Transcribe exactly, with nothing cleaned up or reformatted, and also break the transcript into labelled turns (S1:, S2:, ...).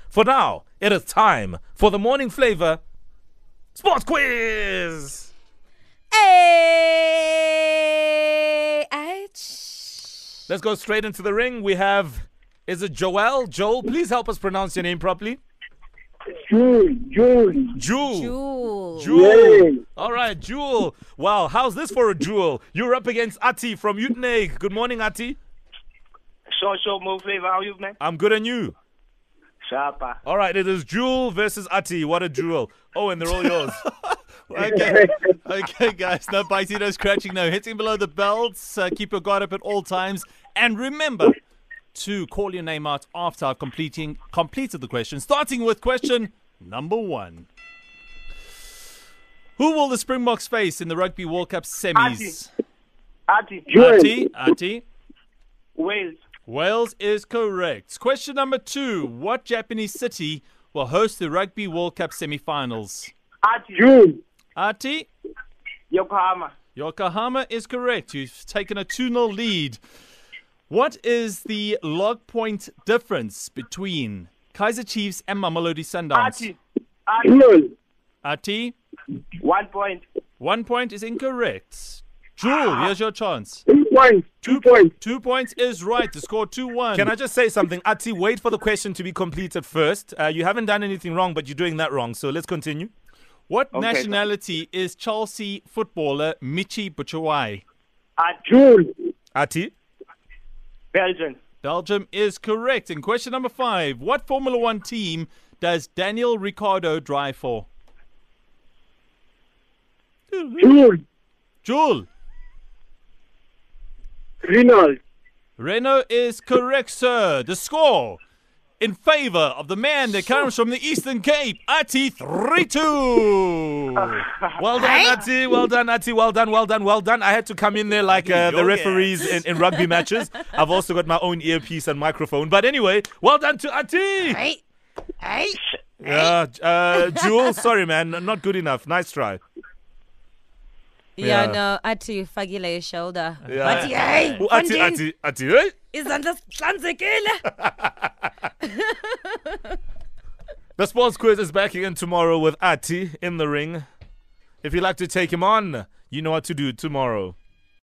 S1: For now, it is time for the morning flavor sports quiz.
S2: Hey, ouch.
S1: Let's go straight into the ring. We have, is it Joel? Joel, please help us pronounce your name properly.
S3: Jewel, Jewel.
S1: Jewel.
S2: Jewel.
S1: Jewel.
S3: Yeah.
S1: All right, Jewel. Wow, how's this for a Jewel? You're up against Ati from Uitenhage. Good morning, Ati.
S4: Sure, sure, Mo Flavor. How are you, man?
S1: I'm good, and you?
S4: Sharpa.
S1: All right, it is Jewel versus Ati. What a Jewel. Oh, and they're all yours.
S5: Okay, okay, guys. No biting, no scratching, no hitting below the belts. Uh, keep your guard up at all times. And remember to call your name out after I've completing, completed the question, starting with question number one. Who will the Springboks face in the Rugby World Cup semis?
S4: Ati.
S5: Ati, Ati.
S4: Wales.
S5: Wales is correct. Question number two. What Japanese city will host the Rugby World Cup semi-finals?
S4: Ati.
S3: Jewel.
S5: Ati,
S4: Yokohama.
S5: Yokohama is correct. You've taken a two nil lead. What is the log point difference between Kaizer Chiefs and Mamelodi Sundowns?
S4: Ati. Ati.
S3: Jewel.
S5: Ati,
S4: One point.
S5: one point is incorrect. Jewel, here's your chance.
S3: Two points. Two points.
S5: Two points is right. The score two one.
S1: Can I just say something? Ati, wait for the question to be completed first. Uh, you haven't done anything wrong, but you're doing that wrong. So let's continue.
S5: What
S4: Okay.
S5: nationality is Chelsea footballer Michi Batshuayi?
S4: Ati.
S3: Jewel.
S1: Ati,
S4: Belgium.
S5: Belgium is correct. And question number five. What Formula One team does Daniel Ricciardo drive for?
S3: Jewel.
S5: Jewel.
S3: Renault.
S5: Renault is correct, sir. The score in favor of the man that comes from the Eastern Cape, Ati, three two.
S1: well done, Ati. Well done, Ati. Well done, well done, well done. I had to come in there like uh, the referees in, in rugby matches. I've also got my own earpiece and microphone. But anyway, well done to Ati.
S2: Hey, hey.
S1: Yeah, uh, Jewel, sorry, man. Not good enough. Nice try.
S2: Yeah,
S1: Yeah.
S2: no, Ati, fagile your shoulder.
S1: Yeah.
S2: But hey,
S1: Oh, Ati,
S2: Fundin,
S1: Ati, Ati, hey?
S2: izandla zihlanzekile.
S1: The sports quiz is back again tomorrow with Ati in the ring. If you'd like to take him on, you know what to do tomorrow.